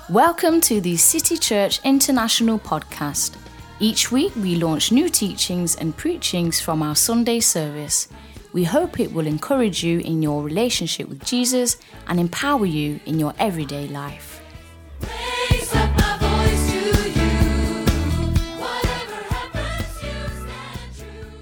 Welcome to the City Church International podcast. Each week we launch new teachings and preachings from our Sunday service. We hope it will encourage you in your relationship with Jesus and empower you in your everyday life. Raise up my voice to you. Whatever happens, you stand true.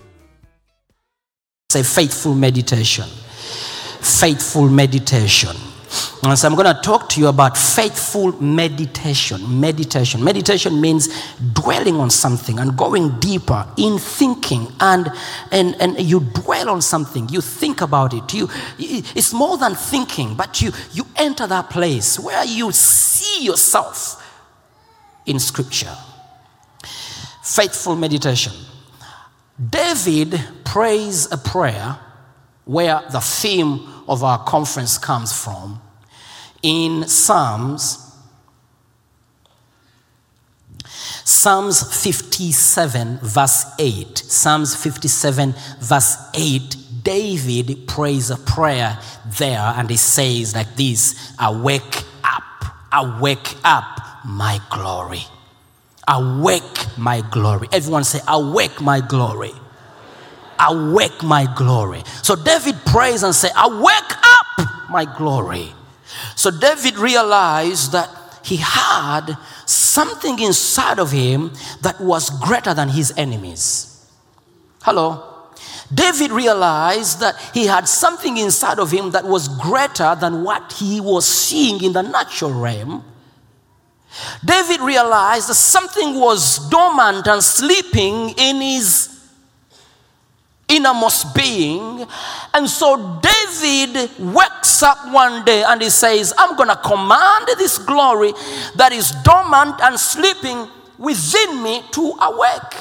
Say faithful meditation. Faithful meditation. And so I'm going to talk to you about faithful meditation. Meditation means dwelling on something and going deeper in thinking, and you dwell on something. You think about it. It's more than thinking, but you enter that place where you see yourself in Scripture. Faithful meditation. David prays a prayer where the theme of our conference comes from. In Psalms 57 verse 8. Psalms 57 verse 8. David prays a prayer there, and he says like this: awake up, my glory. Awake, my glory. Everyone say, awake, my glory. Awake, my glory. So David prays and say, awake up, my glory. So David realized that he had something inside of him that was greater than his enemies. Hello? David realized that he had something inside of him that was greater than what he was seeing in the natural realm. David realized that something was dormant and sleeping in his innermost being. And so David wakes up one day and he says, I'm going to command this glory that is dormant and sleeping within me to awake.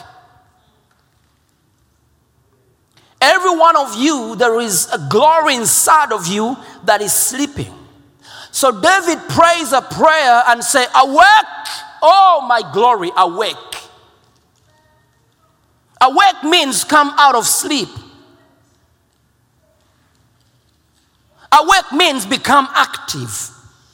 Every one of you, there is a glory inside of you that is sleeping. So David prays a prayer and say, awake, oh my glory, awake. Awake means come out of sleep. Awake means become active.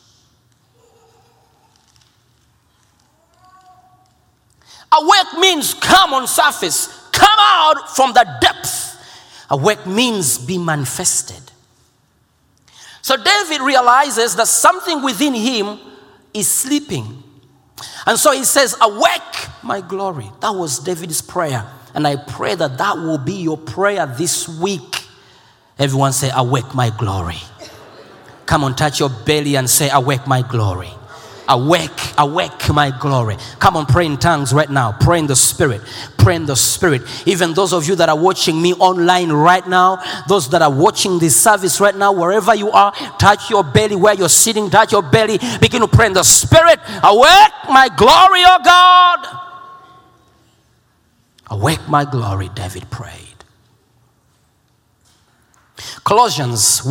Awake means come on surface. Come out from the depth. Awake means be manifested. So David realizes that something within him is sleeping. And so he says, awake, my glory. That was David's prayer. And I pray that that will be your prayer this week. Everyone say, awake, my glory. Come on, touch your belly and say, awake, my glory. Awake, my glory. Come on, pray in tongues right now. Pray in the Spirit. Pray in the Spirit. Even those of you that are watching me online right now, those that are watching this service right now, wherever you are, touch your belly where you're sitting. Touch your belly. Begin to pray in the Spirit. Awake, my glory, oh God. Awake, my glory, David prayed. Colossians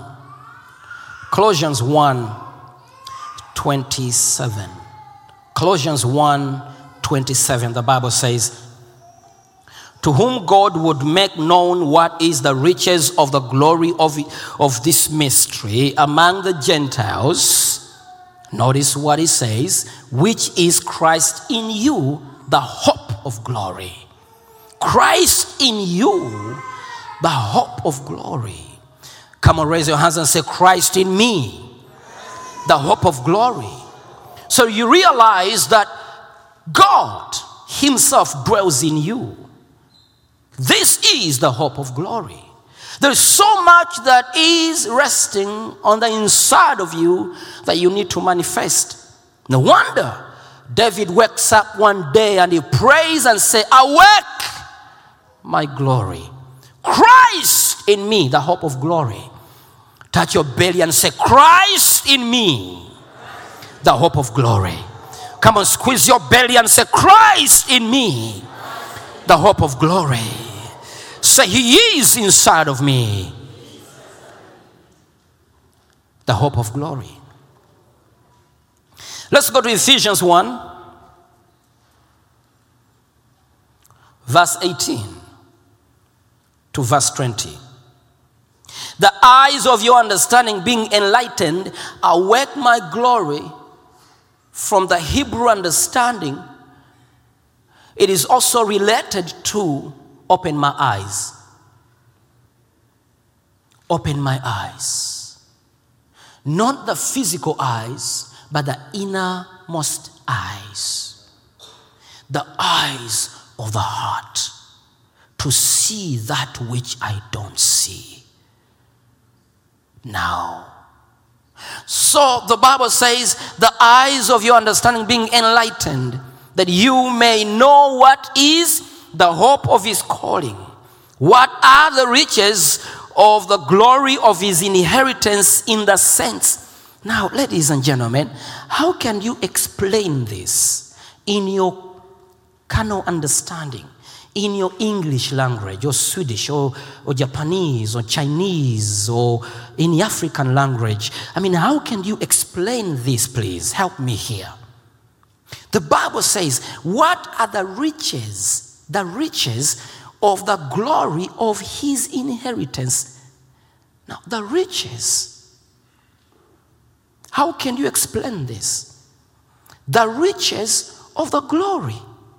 1:27. Colossians 1:27, the Bible says, to whom God would make known what is the riches of the glory of this mystery among the Gentiles. Notice what it says, which is Christ in you, the hope of glory. Christ in you, the hope of glory. Come on, raise your hands and say, Christ in me, the hope of glory. So you realize that God himself dwells in you. This is the hope of glory. There's so much that is resting on the inside of you that you need to manifest. No wonder David wakes up one day and he prays and says, awake, my glory. Christ in me, the hope of glory. Touch your belly and say, Christ in me, the hope of glory. Come on, squeeze your belly and say, Christ in me, the hope of glory. Say, he is inside of me, the hope of glory. Let's go to Ephesians 1, verse 18 to verse 20. The eyes of your understanding being enlightened, awake my glory from the Hebrew understanding, it is also related to open my eyes. Open my eyes. Not the physical eyes, but the innermost eyes. The eyes of the heart to see that which I don't see now. So the Bible says, the eyes of your understanding being enlightened, that you may know what is the hope of his calling. What are the riches of the glory of his inheritance in the saints? Now, ladies and gentlemen, how can you explain this in your carnal understanding, in your English language, or Swedish, or Japanese, or Chinese, or in the African language? I mean, how can you explain this, please? Help me here. The Bible says, what are the riches of the glory of his inheritance? Now, the riches, how can you explain this? The riches of the glory.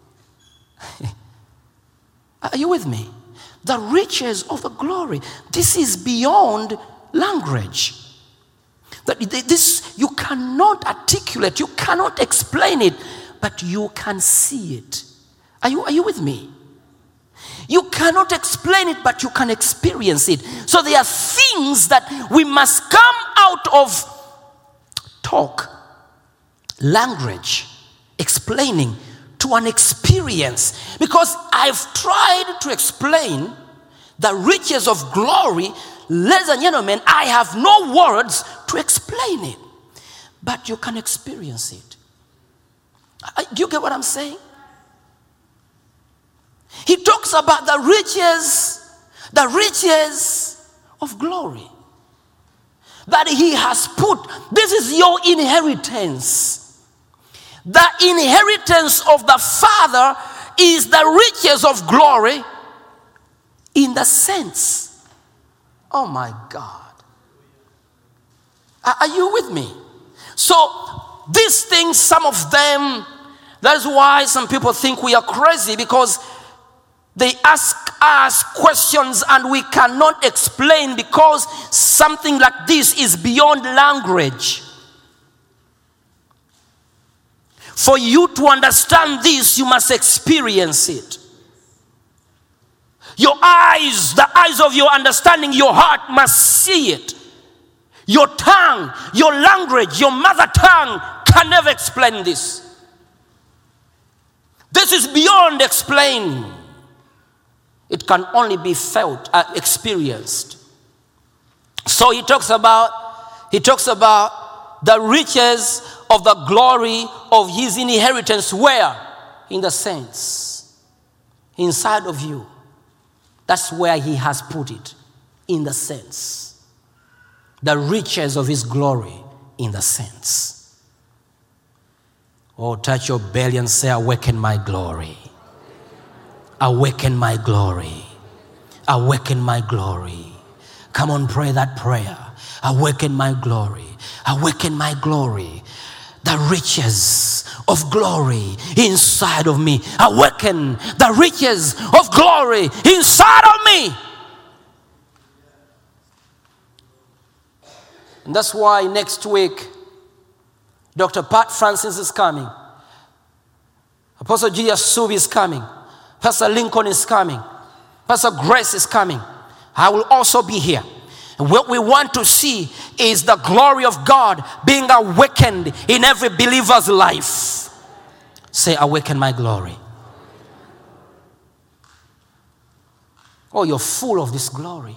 Are you with me? The riches of the glory. This is beyond language. This you cannot articulate, you cannot explain it, but you can see it. Are you with me? You cannot explain it, but you can experience it. So there are things that we must come out of talk, language, explaining to an experience. Because I've tried to explain the riches of glory, ladies and gentlemen, I have no words to explain it. But you can experience it. Do you get what I'm saying? He talks about the riches of glory that he has put. This is your inheritance. The inheritance of the Father is the riches of glory in the saints. Oh my God. Are you with me? So these things, some of them, that's why some people think we are crazy, because they ask us questions and we cannot explain, because something like this is beyond language. For you to understand this, you must experience it. Your eyes, the eyes of your understanding, your heart must see it. Your tongue, your language, your mother tongue can never explain this. This is beyond explain. It can only be felt, experienced. So he talks about the riches of the glory of his inheritance. Where? In the saints. Inside of you. That's where he has put it. In the saints. The riches of his glory in the saints. Oh, touch your belly and say, awaken my glory. Awaken my glory. Awaken my glory. Come on, pray that prayer. Awaken my glory. Awaken my glory. The riches of glory inside of me. Awaken the riches of glory inside of me. And that's why next week, Dr. Pat Francis is coming. Apostle G.S. Subi is coming. Pastor Lincoln is coming. Pastor Grace is coming. I will also be here. And what we want to see is the glory of God being awakened in every believer's life. Say, awaken my glory. Oh, you're full of this glory.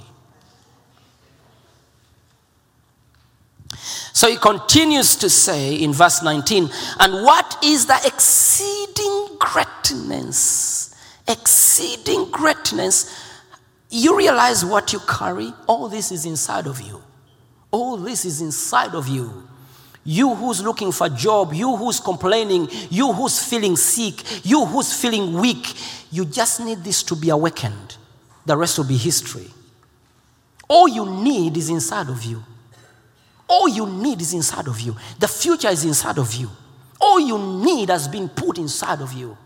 So he continues to say in verse 19, and what is the exceeding greatness? Exceeding greatness. You realize what you carry? All this is inside of you. All this is inside of you. You who's looking for a job, you who's complaining, you who's feeling sick, you who's feeling weak, you just need this to be awakened. The rest will be history. All you need is inside of you. All you need is inside of you. The future is inside of you. All you need has been put inside of you.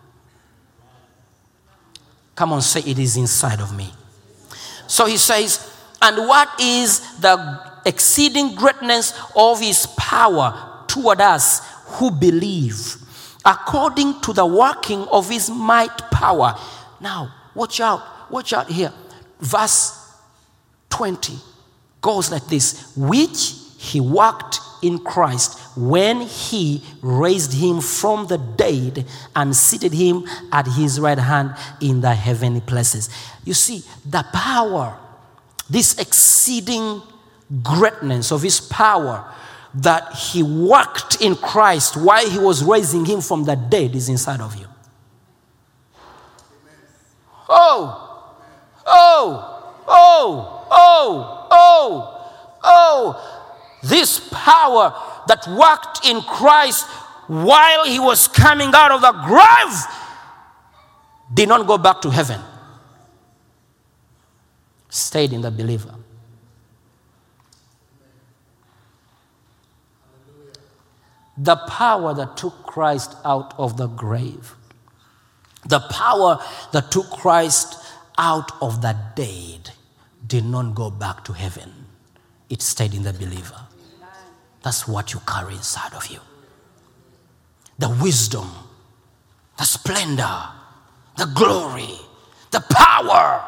Come on, say, it is inside of me. So he says, and what is the exceeding greatness of his power toward us who believe, according to the working of his might power. Now, watch out here. Verse 20 goes like this, which he worked in Christ when he raised him from the dead and seated him at his right hand in the heavenly places. You see, the power, this exceeding greatness of his power that he worked in Christ while he was raising him from the dead is inside of you. This power that worked in Christ while he was coming out of the grave did not go back to heaven. Stayed in the believer. The power that took Christ out of the grave, the power that took Christ out of the dead did not go back to heaven. It stayed in the believer. That's what you carry inside of you. The wisdom, the splendor, the glory, the power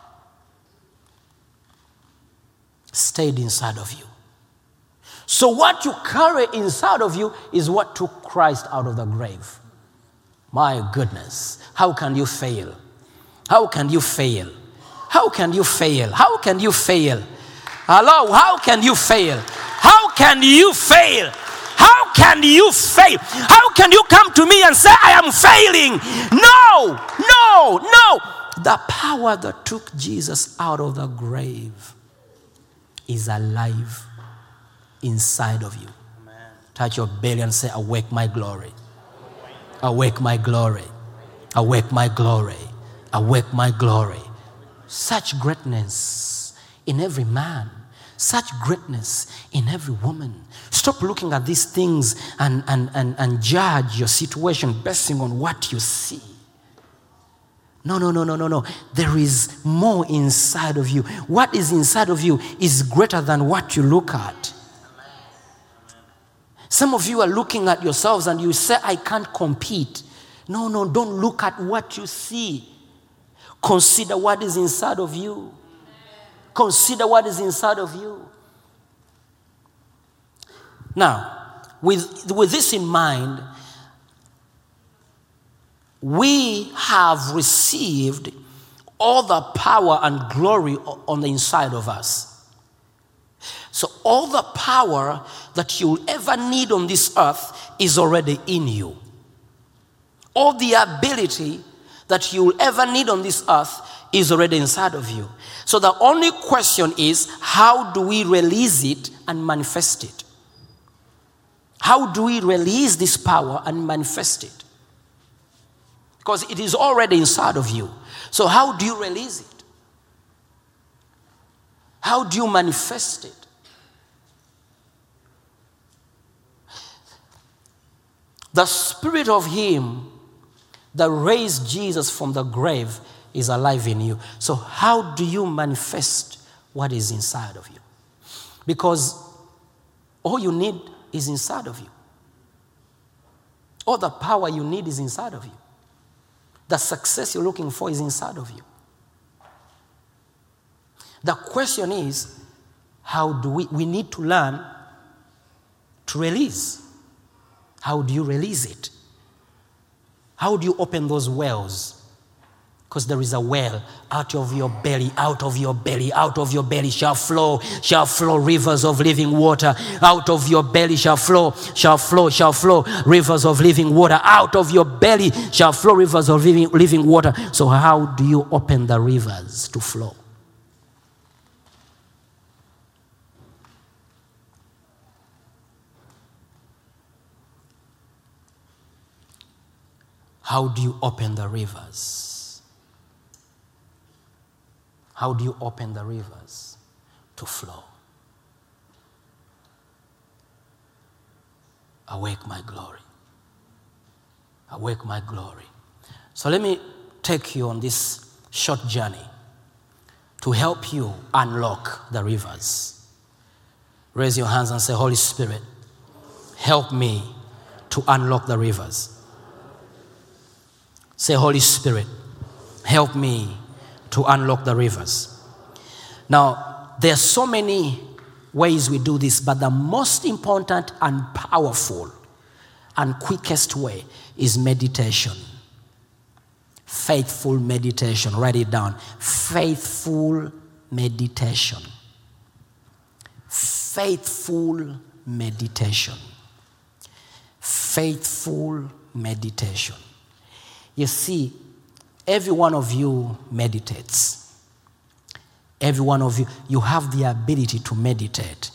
stayed inside of you. So what you carry inside of you is what took Christ out of the grave. My goodness, how can you fail? How can you fail? How can you fail? How can you fail? Hello, how can you fail? How can you fail? How can you fail? How can you come to me and say, I am failing? No. The power that took Jesus out of the grave is alive inside of you. Amen. Touch your belly and say, awake my glory. Awake my glory. Awake my glory. Awake my glory. Such greatness in every man. Such greatness in every woman. Stop looking at these things and judge your situation based on what you see. No. There is more inside of you. What is inside of you is greater than what you look at. Some of you are looking at yourselves and you say, I can't compete. No, don't look at what you see. Consider what is inside of you. Consider what is inside of you. Now, with this in mind, we have received all the power and glory on the inside of us. So all the power that you'll ever need on this earth is already in you. All the ability that you'll ever need on this earth is already inside of you. So the only question is, how do we release it and manifest it? How do we release this power and manifest it? Because it is already inside of you. So how do you release it? How do you manifest it? The spirit of him that raised Jesus from the grave is alive in you. So how do you manifest what is inside of you? Because all you need is inside of you. All the power you need is inside of you. The success you're looking for is inside of you. The question is, how do we need to learn to release. How do you release it? How do you open those wells? Because there is a well out of your belly, out of your belly, out of your belly shall flow rivers of living water. Out of your belly shall flow rivers of living water. Out of your belly shall flow rivers of living water. So how do you open the rivers to flow? How do you open the rivers? How do you open the rivers to flow? Awake my glory. Awake my glory. So let me take you on this short journey to help you unlock the rivers. Raise your hands and say, Holy Spirit, help me to unlock the rivers. Say, Holy Spirit, help me to unlock the rivers. Now, there are so many ways we do this, but the most important and powerful and quickest way is meditation. Faithful meditation. Write it down. Faithful meditation. Faithful meditation. Faithful meditation. You see, every one of you meditates. Every one of you, you have the ability to meditate.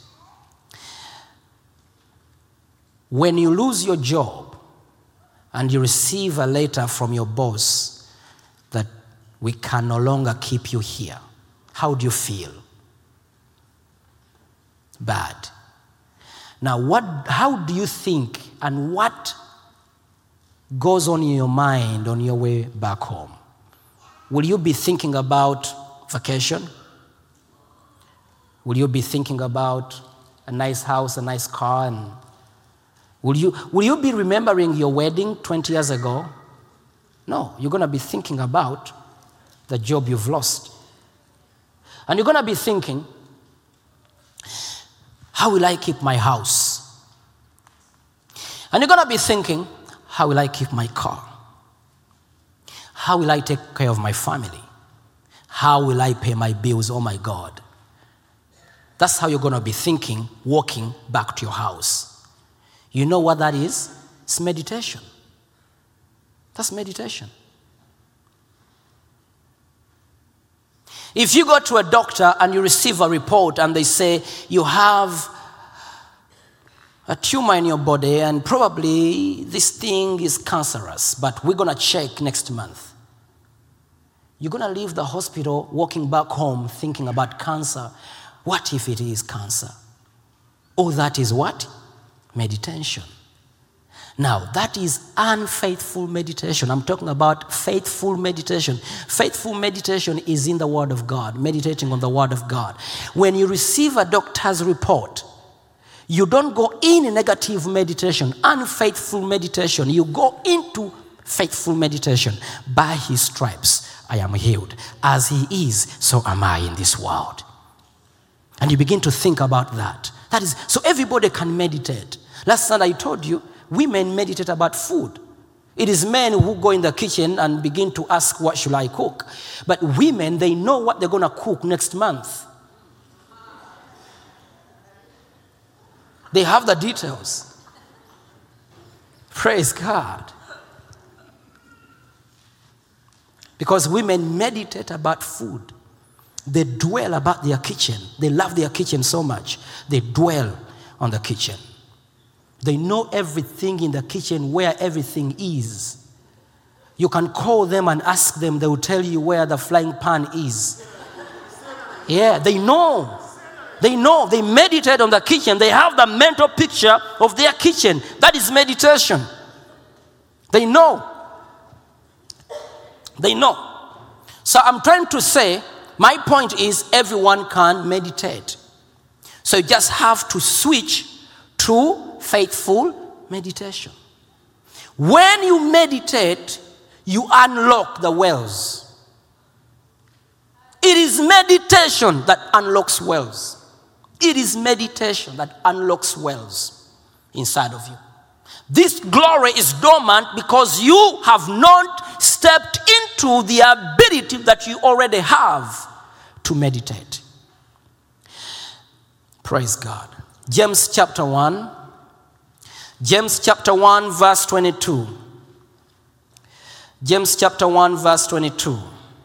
When you lose your job and you receive a letter from your boss that we can no longer keep you here, how do you feel? Bad. Now, how do you think and what goes on in your mind on your way back home? Will you be thinking about vacation? Will you be thinking about a nice house, a nice car? And will you be remembering your wedding 20 years ago? No, you're going to be thinking about the job you've lost. And you're going to be thinking, how will I keep my house? And you're going to be thinking, how will I keep my car? How will I take care of my family? How will I pay my bills? Oh my God. That's how you're going to be thinking, walking back to your house. You know what that is? It's meditation. That's meditation. If you go to a doctor and you receive a report and they say you have a tumor in your body and probably this thing is cancerous, but we're going to check next month. You're going to leave the hospital walking back home thinking about cancer. What if it is cancer? Oh, that is what? Meditation. Now, that is unfaithful meditation. I'm talking about faithful meditation. Faithful meditation is in the Word of God, meditating on the Word of God. When you receive a doctor's report, you don't go in negative meditation, unfaithful meditation. You go into faithful meditation. By His stripes, I am healed. As He is, so am I in this world. And you begin to think about that. That is, so everybody can meditate. Last night I told you, women meditate about food. It is men who go in the kitchen and begin to ask, what should I cook? But women, they know what they're going to cook next month. They have the details. Praise God. Because women meditate about food. They dwell about their kitchen. They love their kitchen so much. They dwell on the kitchen. They know everything in the kitchen, where everything is. You can call them and ask them. They will tell you where the frying pan is. Yeah, they know. They know. They meditate on the kitchen. They have the mental picture of their kitchen. That is meditation. They know. They know. So I'm trying to say, my point is everyone can meditate. So you just have to switch to faithful meditation. When you meditate, you unlock the wells. It is meditation that unlocks wells. It is meditation that unlocks wells inside of you. This glory is dormant because you have not stepped into the ability that you already have to meditate. Praise God. James chapter 1. James chapter 1 verse 22. James chapter 1 verse 22.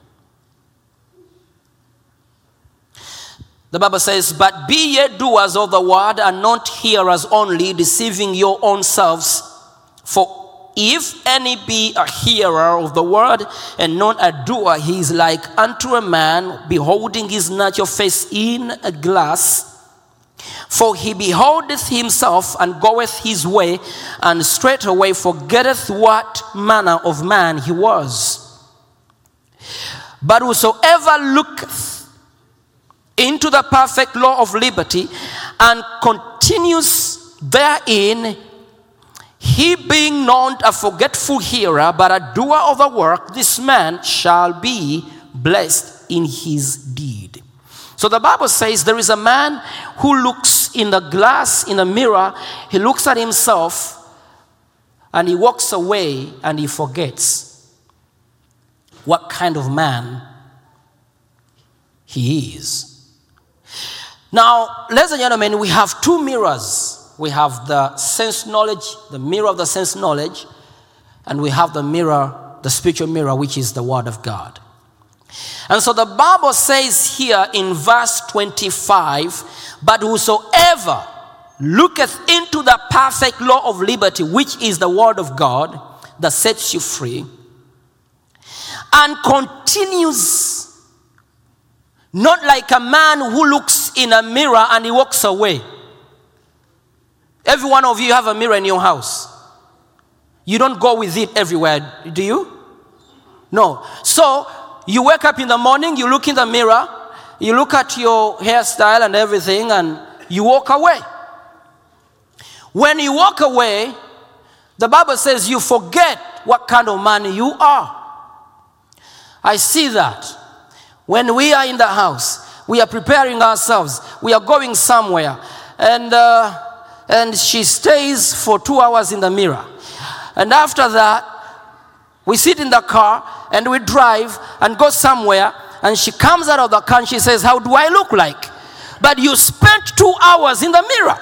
The Bible says, but be ye doers of the word and not hearers only, deceiving your own selves. For if any be a hearer of the word and not a doer, he is like unto a man beholding his natural face in a glass. For he beholdeth himself and goeth his way, and straightway forgetteth what manner of man he was. But whosoever looketh into the perfect law of liberty, and continues therein, he being not a forgetful hearer, but a doer of the work, this man shall be blessed in his deed. So the Bible says there is a man who looks in the glass, in a mirror, he looks at himself, and he walks away, and he forgets what kind of man he is. Now, ladies and gentlemen, we have two mirrors. We have the sense knowledge, the mirror of the sense knowledge, and we have the mirror, the spiritual mirror, which is the Word of God. And so the Bible says here in verse 25, but whosoever looketh into the perfect law of liberty, which is the Word of God, that sets you free, and continues, not like a man who looks in a mirror and he walks away. Every one of you have a mirror in your house. You don't go with it everywhere, do you? No. So, you wake up in the morning, you look in the mirror, you look at your hairstyle and everything, and you walk away. When you walk away, the Bible says you forget what kind of man you are. I see that. When we are in the house, we are preparing ourselves, we are going somewhere, and she stays for 2 hours in the mirror. And after that, we sit in the car and we drive and go somewhere, and she comes out of the car and she says, how do I look like? But you spent 2 hours in the mirror.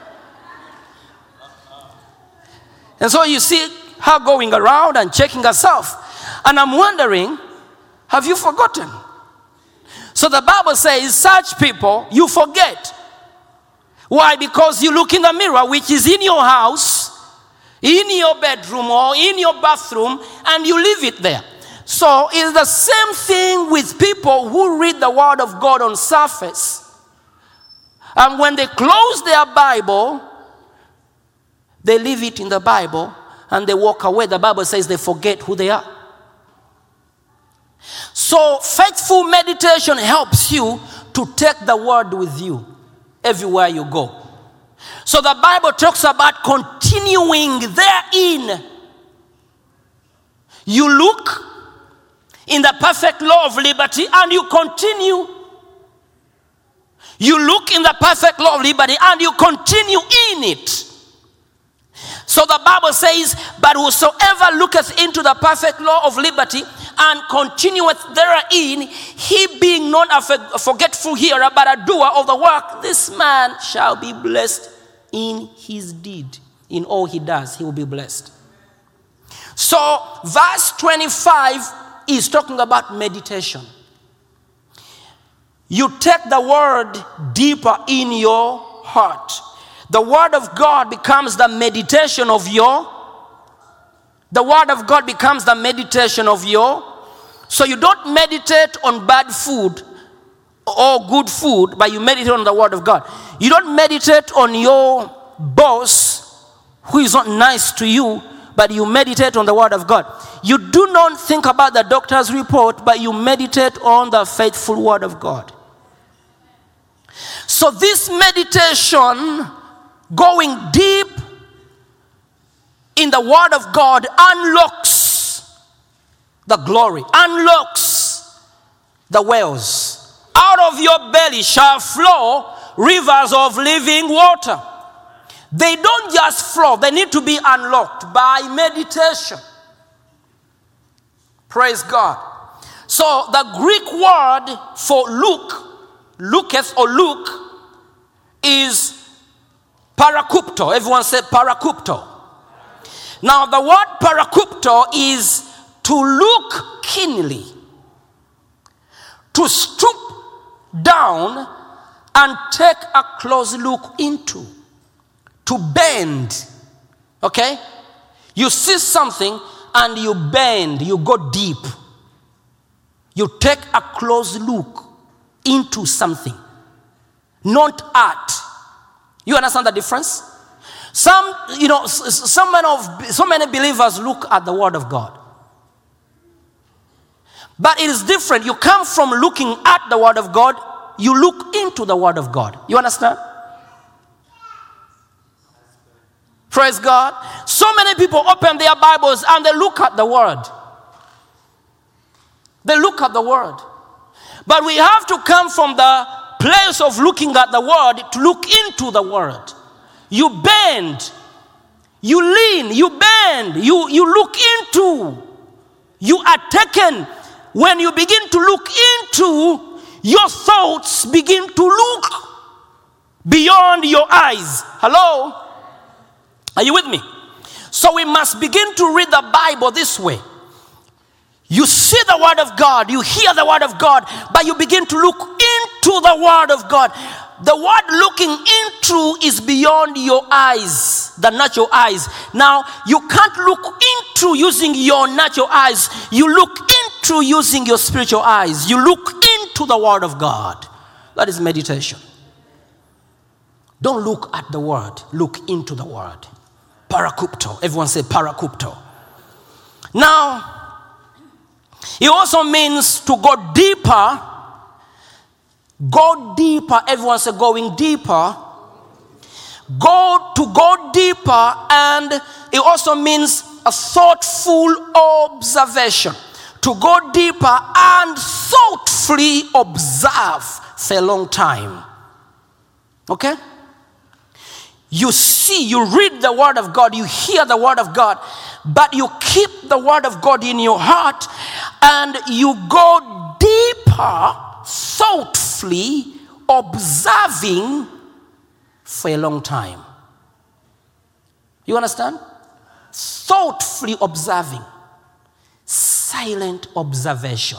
And so you see her going around and checking herself. And I'm wondering, have you forgotten? So the Bible says such people you forget. Why? Because you look in the mirror, which is in your house, in your bedroom or in your bathroom, and you leave it there. So it's the same thing with people who read the Word of God on surface. And when they close their Bible, they leave it in the Bible and they walk away. The Bible says they forget who they are. So faithful meditation helps you to take the Word with you everywhere you go. So the Bible talks about continuing therein. You look in the perfect law of liberty and you continue. You look in the perfect law of liberty and you continue in it. So the Bible says, but whosoever looketh into the perfect law of liberty and continueth therein, he being not a forgetful hearer, but a doer of the work, this man shall be blessed in his deed. In all he does, he will be blessed. So verse 25 is talking about meditation. You take the word deeper in your heart. The Word of God becomes the meditation of your. The Word of God becomes the meditation of your. So you don't meditate on bad food or good food, but you meditate on the Word of God. You don't meditate on your boss who is not nice to you, but you meditate on the Word of God. You do not think about the doctor's report, but you meditate on the faithful Word of God. So this meditation, going deep in the Word of God, unlocks the glory, unlocks the wells. Out of your belly shall flow rivers of living water. They don't just flow, they need to be unlocked by meditation. Praise God. So the Greek word for looketh or look, is parakupto. Everyone say parakupto. Now the word parakupto is to look keenly, to stoop down and take a close look into, to bend. Okay? You see something and you bend, you go deep. You take a close look into something. Not art, You understand the difference? So many believers look at the Word of God. But it is different. You come from looking at the Word of God, you look into the Word of God. You understand? Praise God. So many people open their Bibles and they look at the Word. They look at the Word. But we have to come from the place of looking at the Word to look into the Word. You bend, you lean, you bend, you look into, you are taken. When you begin to look into, your thoughts begin to look beyond your eyes. Hello? Are you with me? So we must begin to read the Bible this way. You see the Word of God, you hear the Word of God, but you begin to look into the Word of God. The word looking into is beyond your eyes, the natural eyes. Now, you can't look into using your natural eyes. You look into using your spiritual eyes. You look into the Word of God. That is meditation. Don't look at the Word. Look into the Word. Parakupto. Everyone say parakupto. Now, it also means to go deeper. Go deeper. Everyone say going deeper. Go deeper, and it also means a thoughtful observation. To go deeper and thoughtfully observe for a long time. Okay? You see, you read the Word of God, you hear the Word of God, but you keep the Word of God in your heart and you go deeper, thoughtfully observing for a long time. You understand? Thoughtfully observing. Silent observation.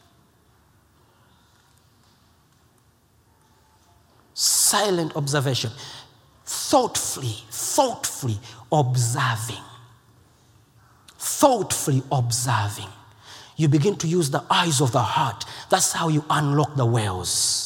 Silent observation. Thoughtfully observing. Thoughtfully observing. You begin to use the eyes of the heart. That's how you unlock the wells.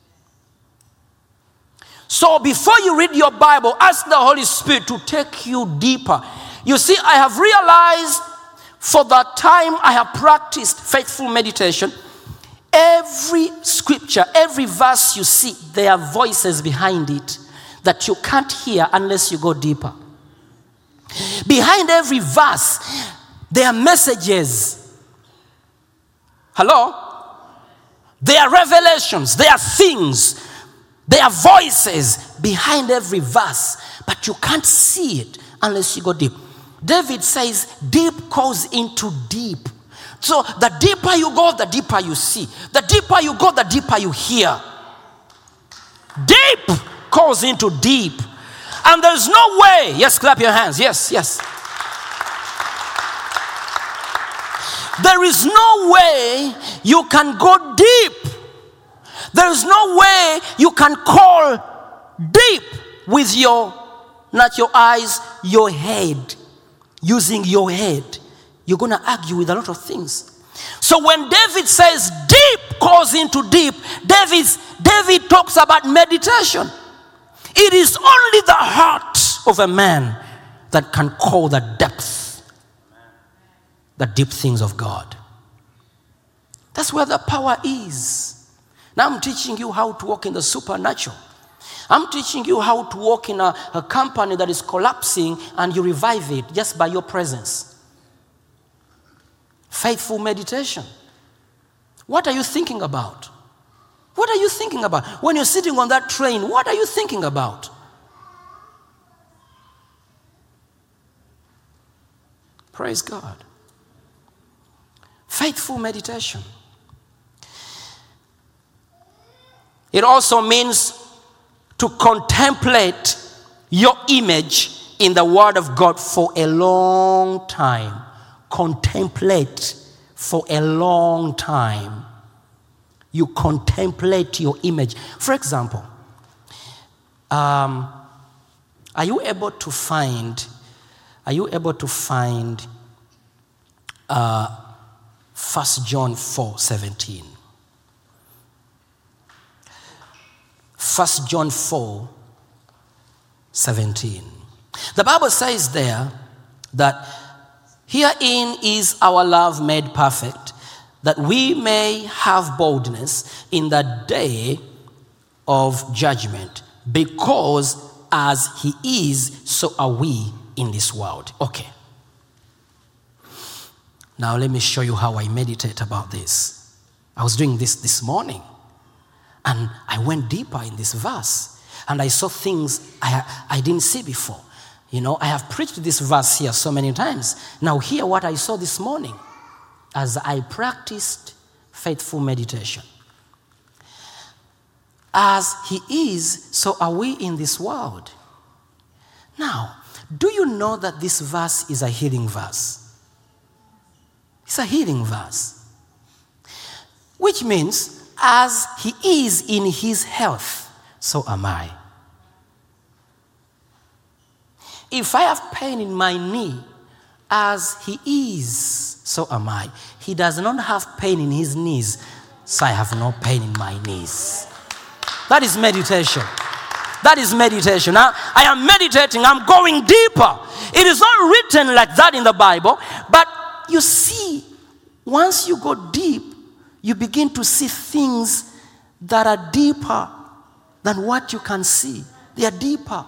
So before you read your Bible, ask the Holy Spirit to take you deeper. You see, I have realized for the time I have practiced faithful meditation, every scripture, every verse you see, there are voices behind it that you can't hear unless you go deeper. Behind every verse, there are messages. Hello? There are revelations, there are things, there are voices behind every verse, but you can't see it unless you go deep. David says, deep calls into deep. So the deeper you go, the deeper you see. The deeper you go, the deeper you hear. Deep calls into deep. And there's no way, yes, clap your hands, yes. There is no way you can go deep. There is no way you can call deep with your, not your eyes, your head. Using your head. You're going to argue with a lot of things. So when David says deep calls into deep, David talks about meditation. It is only the heart of a man that can call the depth, the deep things of God. That's where the power is. Now I'm teaching you how to walk in the supernatural. I'm teaching you how to walk in a company that is collapsing and you revive it just by your presence. Faithful meditation. What are you thinking about? What are you thinking about? When you're sitting on that train, what are you thinking about? Praise God. Faithful meditation. It also means to contemplate your image in the Word of God for a long time. Contemplate for a long time. You contemplate your image. For example, are you able to find 1 John 4:17? 1 John 4, 17. The Bible says there that herein is our love made perfect, that we may have boldness in the day of judgment, because as he is, so are we in this world. Okay. Now let me show you how I meditate about this. I was doing this morning, and I went deeper in this verse, and I saw things I didn't see before. You know, I have preached this verse here so many times. Now hear what I saw this morning as I practiced faithful meditation. As he is, so are we in this world. Now, do you know that this verse is a healing verse? It's a healing verse. Which means, as he is in his health, so am I. If I have pain in my knee, as he is, so am I. He does not have pain in his knees, so I have no pain in my knees. That is meditation. That is meditation. Now, I am meditating. I'm going deeper. It is not written like that in the Bible, but you see, once you go deep, you begin to see things that are deeper than what you can see. They are deeper.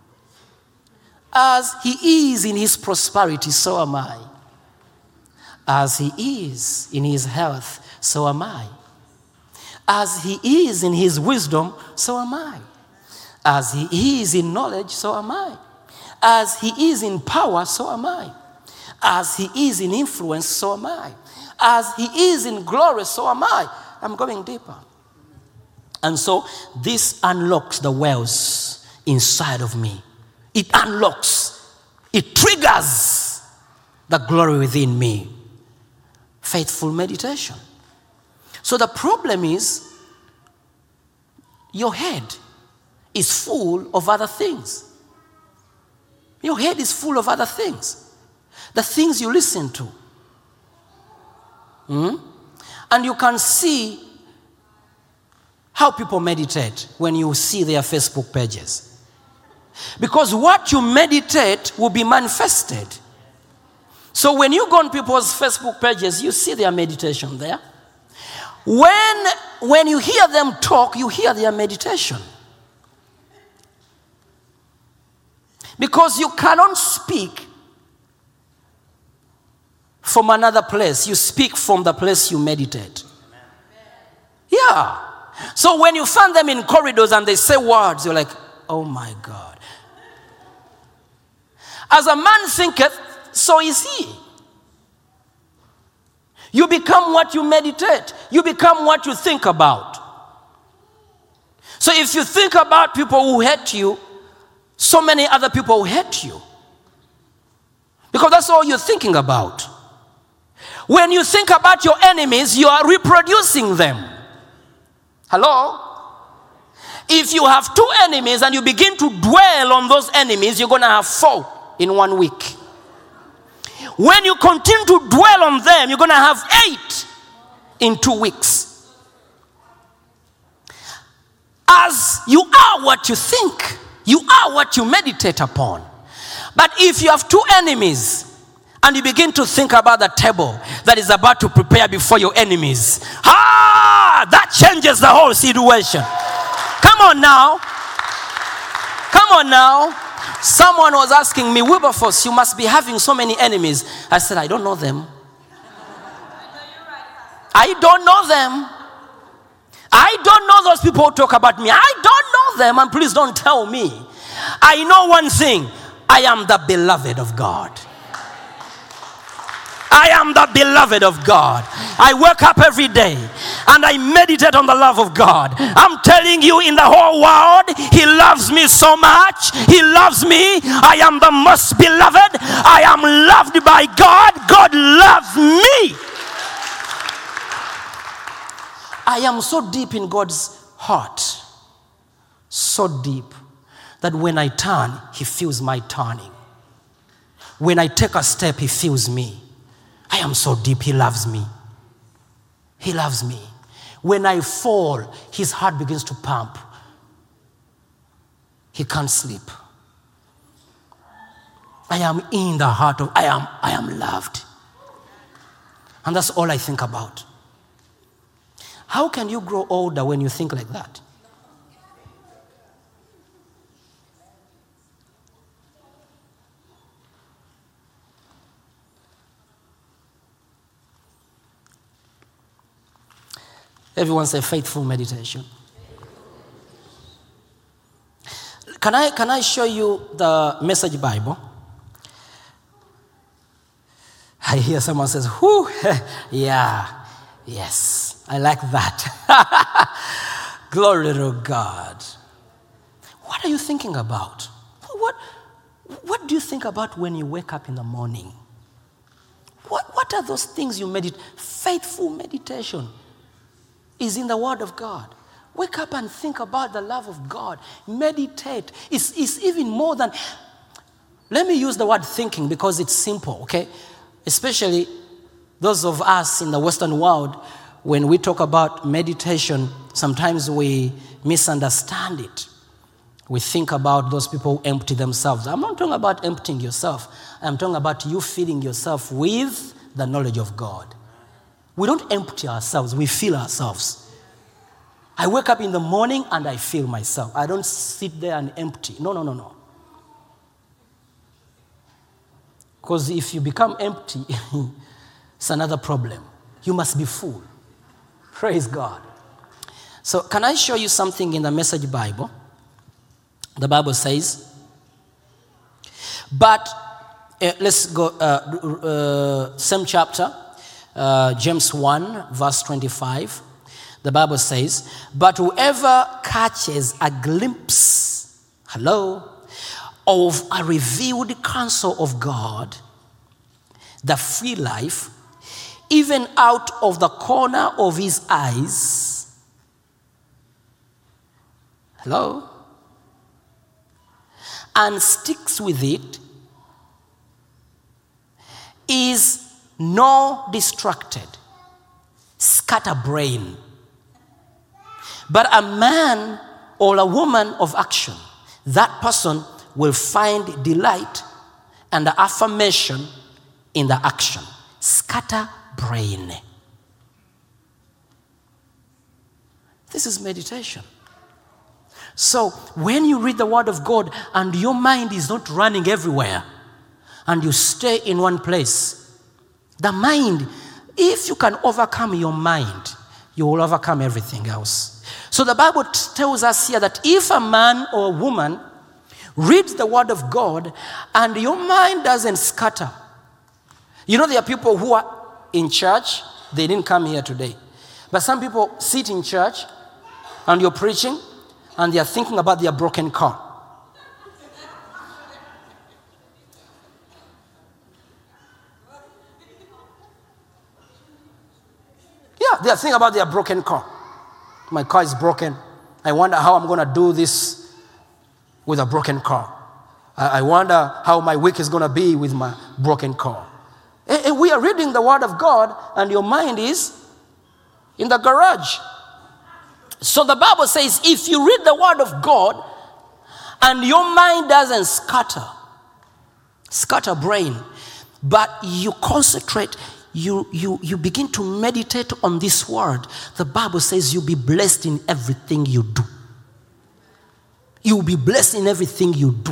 As he is in his prosperity, so am I. As he is in his health, so am I. As he is in his wisdom, so am I. As he is in knowledge, so am I. As he is in power, so am I. As he is in influence, so am I. As he is in glory, so am I. I'm going deeper. And so this unlocks the wells inside of me. It unlocks, it triggers the glory within me. Faithful meditation. So the problem is, your head is full of other things. Your head is full of other things. The things you listen to. And you can see how people meditate when you see their Facebook pages. Because what you meditate will be manifested. So when you go on people's Facebook pages, you see their meditation there. When you hear them talk, you hear their meditation. Because you cannot speak from another place. You speak from the place you meditate. Yeah. So when you find them in corridors and they say words, you're like, oh my God. As a man thinketh, so is he. You become what you meditate. You become what you think about. So if you think about people who hate you, so many other people will hate you. Because that's all you're thinking about. When you think about your enemies, you are reproducing them. Hello? If you have 2 enemies and you begin to dwell on those enemies, you're going to have 4 in 1 week. When you continue to dwell on them, you're going to have 8 in 2 weeks. As you are what you think, you are what you meditate upon. But if you have 2 enemies and you begin to think about the table that is about to prepare before your enemies, that changes the whole situation. Come on now. Come on now. Someone was asking me, Wilberforce, you must be having so many enemies. I said, I don't know them. I don't know them. I don't know those people who talk about me. I don't know them, and please don't tell me. I know one thing. I am the beloved of God. I am the beloved of God. I wake up every day and I meditate on the love of God. I'm telling you, in the whole world, he loves me so much. He loves me. I am the most beloved. I am loved by God. God loves me. I am so deep in God's heart. So deep that when I turn, he feels my turning. When I take a step, he feels me. I am so deep, he loves me. He loves me. When I fall, his heart begins to pump. He can't sleep. I am in the heart of, I am loved. And that's all I think about. How can you grow older when you think like that? Everyone say faithful meditation. Can I show you the Message Bible? I hear someone says, whoo, yeah, yes, I like that. Glory to God. What are you thinking about? What do you think about when you wake up in the morning? What are those things you meditate? Faithful meditation is in the Word of God. Wake up and think about the love of God. Meditate. It's even more than, let me use the word thinking because it's simple, okay? Especially those of us in the Western world, when we talk about meditation, sometimes we misunderstand it. We think about those people who empty themselves. I'm not talking about emptying yourself. I'm talking about you filling yourself with the knowledge of God. We don't empty ourselves, we fill ourselves. I wake up in the morning and I fill myself. I don't sit there and empty. No. Because if you become empty, it's another problem. You must be full. Praise God. So can I show you something in the Message Bible? The Bible says, but let's go, same chapter, James 1, verse 25. The Bible says, but whoever catches a glimpse, of a revealed counsel of God, the free life, even out of the corner of his eyes, and sticks with it, is no distracted, scatterbrain, but a man or a woman of action. That person will find delight and affirmation in the action. Scatterbrain. This is meditation. So when you read the Word of God and your mind is not running everywhere and you stay in one place, the mind, if you can overcome your mind, you will overcome everything else. So the Bible tells us here that if a man or a woman reads the Word of God and your mind doesn't scatter. You know, there are people who are in church, they didn't come here today. But some people sit in church and you're preaching and they are thinking about their broken car. Yeah, they are thinking about their broken car. My car is broken. I wonder how I'm going to do this with a broken car. I wonder how my week is going to be with my broken car. And we are reading the Word of God and your mind is in the garage. So the Bible says if you read the Word of God and your mind doesn't scatter brain, but you concentrate, you begin to meditate on this Word, the Bible says you'll be blessed in everything you do. You'll be blessed in everything you do.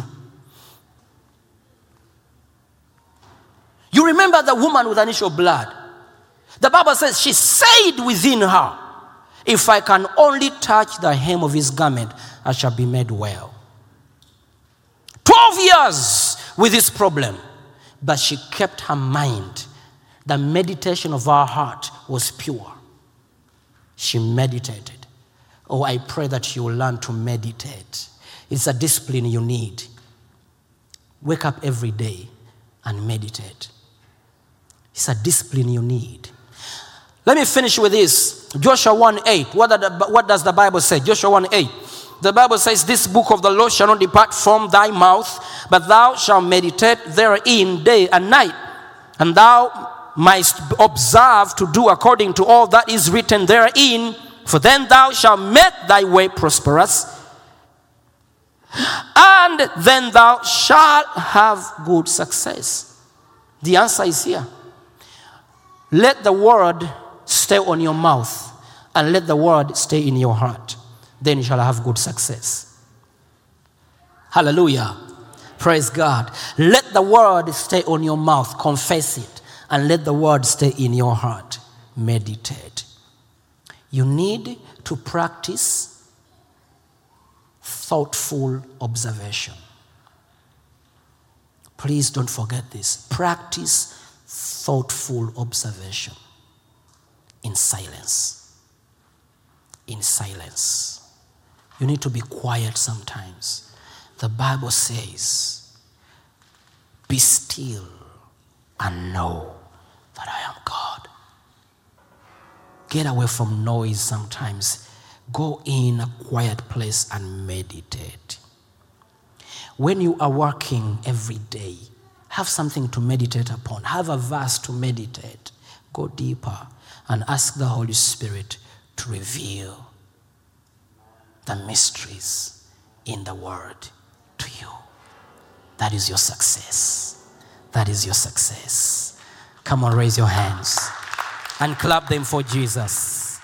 You remember the woman with an issue of blood. The Bible says she said within her, if I can only touch the hem of his garment, I shall be made well. 12 years with this problem, but she kept her mind. The meditation of her heart was pure. She meditated. Oh, I pray that you will learn to meditate. It's a discipline you need. Wake up every day and meditate. It's a discipline you need. Let me finish with this. Joshua 1:8. What does the Bible say? Joshua 1:8. The Bible says, this book of the law shall not depart from thy mouth, but thou shalt meditate therein day and night, and thou mightst observe to do according to all that is written therein, for then thou shalt make thy way prosperous, and then thou shalt have good success. The answer is here. Let the word stay on your mouth and let the word stay in your heart. Then you shall have good success. Hallelujah. Praise God. Let the word stay on your mouth. Confess it. And let the word stay in your heart. Meditate. You need to practice thoughtful observation. Please don't forget this. Practice thoughtful observation in silence. In silence. You need to be quiet sometimes. The Bible says, be still and know that I am God. Get away from noise sometimes. Go in a quiet place and meditate. When you are working every day, have something to meditate upon. Have a verse to meditate. Go deeper and ask the Holy Spirit to reveal the mysteries in the Word to you. That is your success. That is your success. Come on, raise your hands and clap them for Jesus.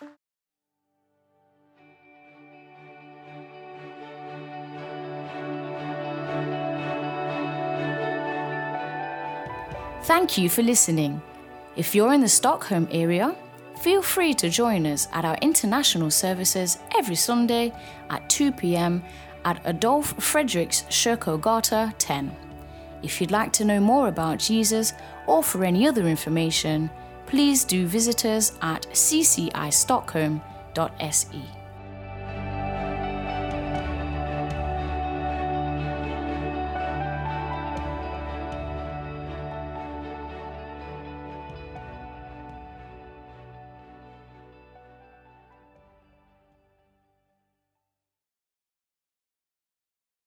Thank you for listening. If you're in the Stockholm area, feel free to join us at our international services every Sunday at 2 p.m. at Adolf Fredriks Kyrkogata 10. If you'd like to know more about Jesus or for any other information, please do visit us at ccistockholm.se.